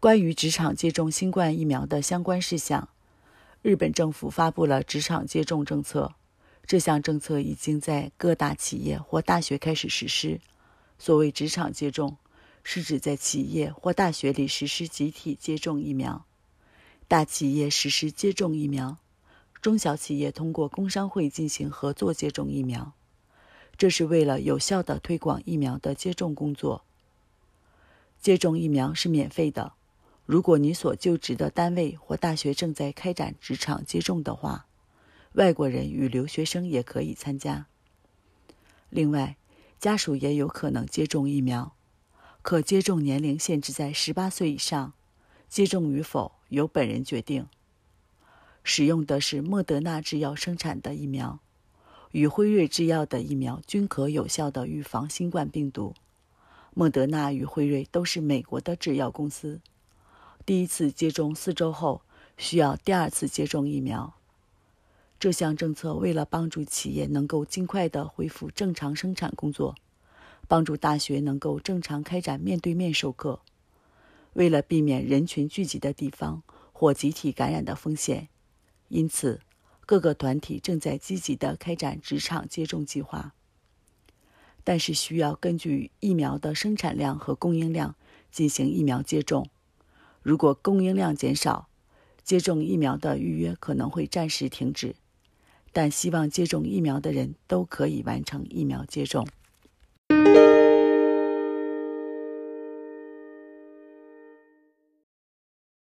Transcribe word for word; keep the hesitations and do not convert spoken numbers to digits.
关于职场接种新冠疫苗的相关事项，日本政府发布了职场接种政策。这项政策已经在各大企业或大学开始实施。所谓职场接种，是指在企业或大学里实施集体接种疫苗。大企业实施接种疫苗，中小企业通过工商会进行合作接种疫苗。这是为了有效地推广疫苗的接种工作。接种疫苗是免费的。如果你所就职的单位或大学正在开展职场接种的话，外国人与留学生也可以参加。另外，家属也有可能接种疫苗，可接种年龄限制在十八岁以上，接种与否由本人决定。使用的是莫德纳制药生产的疫苗，与辉瑞制药的疫苗均可有效地预防新冠病毒。莫德纳与辉瑞都是美国的制药公司。第一次接种四周后，需要第二次接种疫苗。这项政策为了帮助企业能够尽快地恢复正常生产工作，帮助大学能够正常开展面对面授课，为了避免人群聚集的地方或集体感染的风险，因此各个团体正在积极地开展职场接种计划。但是需要根据疫苗的生产量和供应量进行疫苗接种。如果供应量减少，接种疫苗的预约可能会暂时停止，但希望接种疫苗的人都可以完成疫苗接种。